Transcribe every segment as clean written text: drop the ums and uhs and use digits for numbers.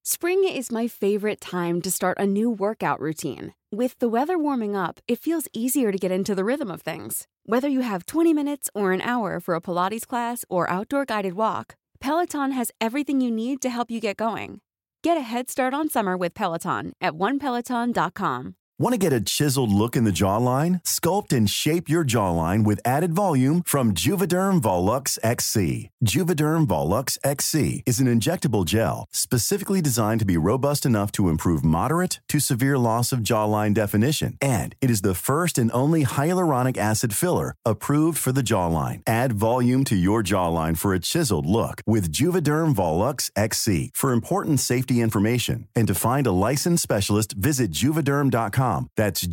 Spring is my favorite time to start a new workout routine. With the weather warming up, it feels easier to get into the rhythm of things. Whether you have 20 minutes or an hour for a Pilates class or outdoor guided walk, Peloton has everything you need to help you get going. Get a head start on summer with Peloton at onepeloton.com. Want to get a chiseled look in the jawline? Sculpt and shape your jawline with added volume from Juvederm Volux XC. Juvederm Volux XC is an injectable gel specifically designed to be robust enough to improve moderate to severe loss of jawline definition. And it is the first and only hyaluronic acid filler approved for the jawline. Add volume to your jawline for a chiseled look with Juvederm Volux XC. For important safety information and to find a licensed specialist, visit juvederm.com. That's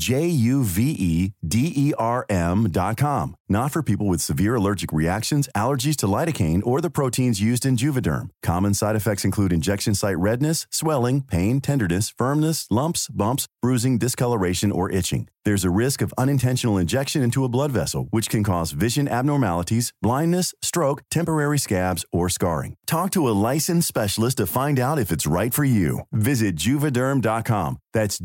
JUVEDERM.com. Not for people with severe allergic reactions, allergies to lidocaine, or the proteins used in Juvederm. Common side effects include injection site redness, swelling, pain, tenderness, firmness, lumps, bumps, bruising, discoloration, or itching. There's a risk of unintentional injection into a blood vessel, which can cause vision abnormalities, blindness, stroke, temporary scabs, or scarring. Talk to a licensed specialist to find out if it's right for you. Visit Juvederm.com. That's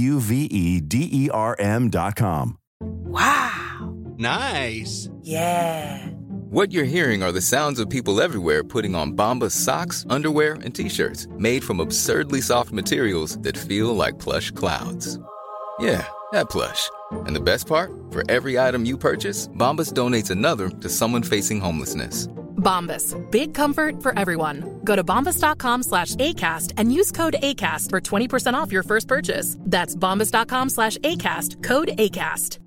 JUVEDERM.com. Wow. Nice. Yeah. What you're hearing are the sounds of people everywhere putting on Bombas socks, underwear, and T-shirts made from absurdly soft materials that feel like plush clouds. Yeah, that plush. And the best part? For every item you purchase, Bombas donates another to someone facing homelessness. Bombas. Big comfort for everyone. Go to bombas.com/ACAST and use code ACAST for 20% off your first purchase. That's bombas.com/ACAST. Code ACAST.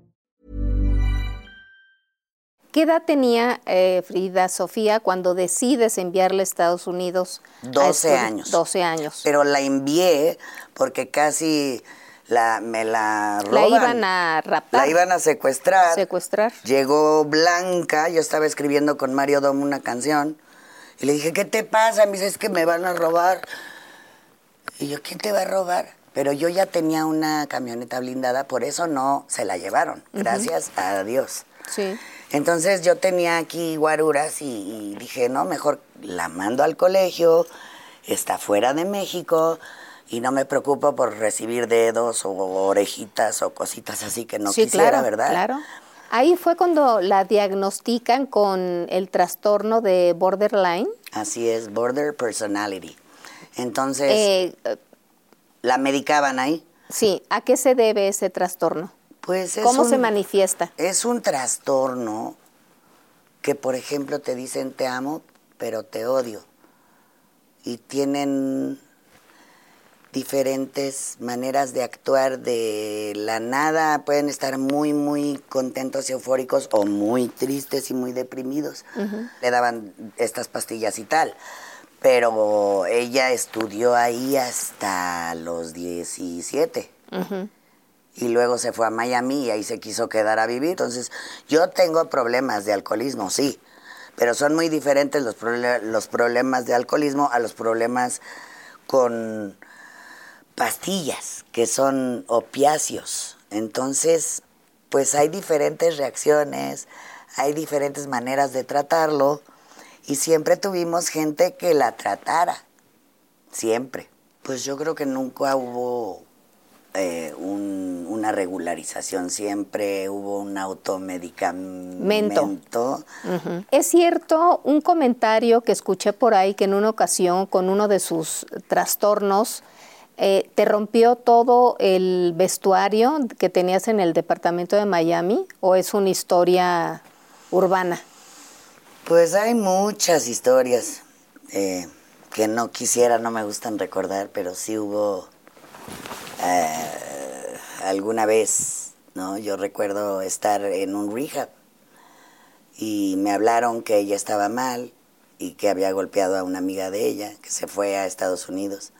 ¿Qué edad tenía Frida Sofía cuando decides enviarla a Estados Unidos? 12 años. 12 años. Pero la envié porque casi me la roban. La iban a raptar. La iban a secuestrar. Secuestrar. Llegó Blanca, yo estaba escribiendo con Mario Dom una canción, y le dije, ¿qué te pasa? Me dice, es que me van a robar. Y yo, ¿quién te va a robar? Pero yo ya tenía una camioneta blindada, por eso no se la llevaron, gracias a Dios. Sí. Entonces yo tenía aquí guaruras y dije, no, mejor la mando al colegio, está fuera de México y no me preocupo por recibir dedos o orejitas o cositas así que no quisiera, claro, ¿verdad? Claro. Ahí fue cuando la diagnostican con el trastorno de borderline. Así es, border personality. Entonces, ¿la medicaban ahí? Sí. ¿A qué se debe ese trastorno? Pues ¿Cómo se manifiesta? Es un trastorno que, por ejemplo, te dicen te amo, pero te odio. Y tienen diferentes maneras de actuar de la nada. Pueden estar muy, muy contentos y eufóricos o muy tristes y muy deprimidos. Le daban estas pastillas y tal. Pero ella estudió ahí hasta los 17. Y luego se fue a Miami y ahí se quiso quedar a vivir. Entonces, yo tengo problemas de alcoholismo, sí, pero son muy diferentes los problemas de alcoholismo a los problemas con pastillas, que son opiáceos. Entonces, pues hay diferentes reacciones, hay diferentes maneras de tratarlo, y siempre tuvimos gente que la tratara, siempre. Pues yo creo que nunca hubo una regularización, siempre hubo un automedicamento. Es cierto un comentario que escuché por ahí que en una ocasión con uno de sus trastornos te rompió todo el vestuario que tenías en el departamento de Miami, ¿o es una historia urbana? Pues hay muchas historias que no me gustan recordar, pero sí hubo alguna vez, ¿no? Yo recuerdo estar en un rehab y me hablaron que ella estaba mal y que había golpeado a una amiga de ella, que se fue a Estados Unidos.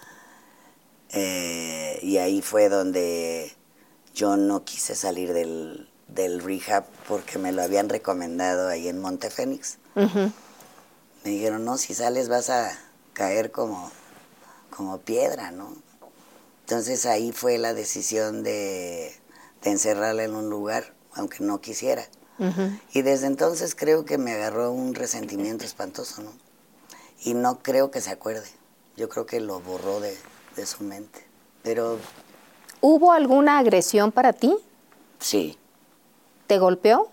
Y ahí fue donde yo no quise salir del rehab porque me lo habían recomendado ahí en Monte Fénix. Me dijeron, no, si sales vas a caer como piedra, ¿no? Entonces ahí fue la decisión de encerrarla en un lugar, aunque no quisiera. Y desde entonces creo que me agarró un resentimiento espantoso, ¿no? Y no creo que se acuerde. Yo creo que lo borró de su mente. Pero... ¿Hubo alguna agresión para ti? Sí. ¿Te golpeó?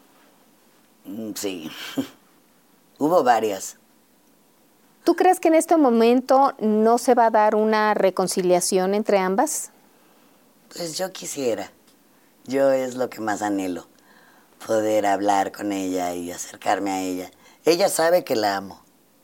Sí. Hubo varias. ¿Tú crees que en este momento no se va a dar una reconciliación entre ambas? Pues yo quisiera. Yo es lo que más anhelo. Poder hablar con ella y acercarme a ella. Ella sabe que la amo.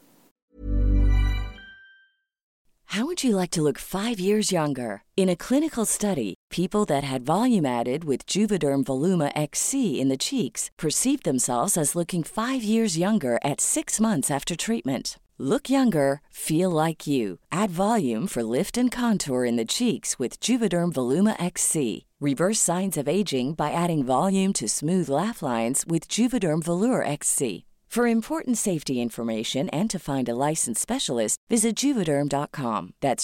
How would you like to look 5 years younger? In a clinical study, people that had volume added with Juvederm Voluma XC in the cheeks perceived themselves as looking 5 years younger at 6 months after treatment. Look younger, feel like you. Add volume for lift and contour in the cheeks with Juvederm Voluma XC. Reverse signs of aging by adding volume to smooth laugh lines with Juvederm Volure XC. For important safety information and to find a licensed specialist, visit Juvederm.com. That's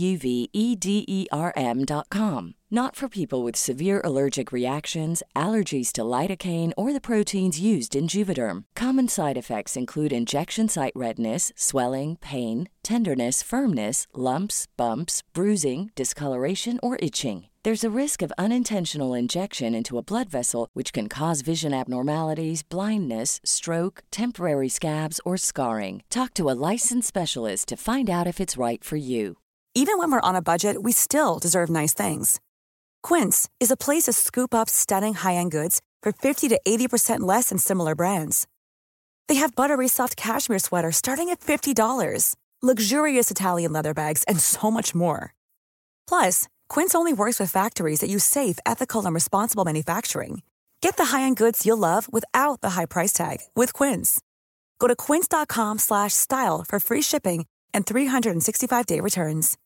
JUVEDERM.com. Not for people with severe allergic reactions, allergies to lidocaine, or the proteins used in Juvederm. Common side effects include injection site redness, swelling, pain, tenderness, firmness, lumps, bumps, bruising, discoloration, or itching. There's a risk of unintentional injection into a blood vessel, which can cause vision abnormalities, blindness, stroke, temporary scabs, or scarring. Talk to a licensed specialist to find out if it's right for you. Even when we're on a budget, we still deserve nice things. Quince is a place to scoop up stunning high-end goods for 50 to 80% less than similar brands. They have buttery soft cashmere sweaters starting at $50, luxurious Italian leather bags, and so much more. Plus, Quince only works with factories that use safe, ethical, and responsible manufacturing. Get the high-end goods you'll love without the high price tag with Quince. Go to quince.com/style for free shipping and 365-day returns.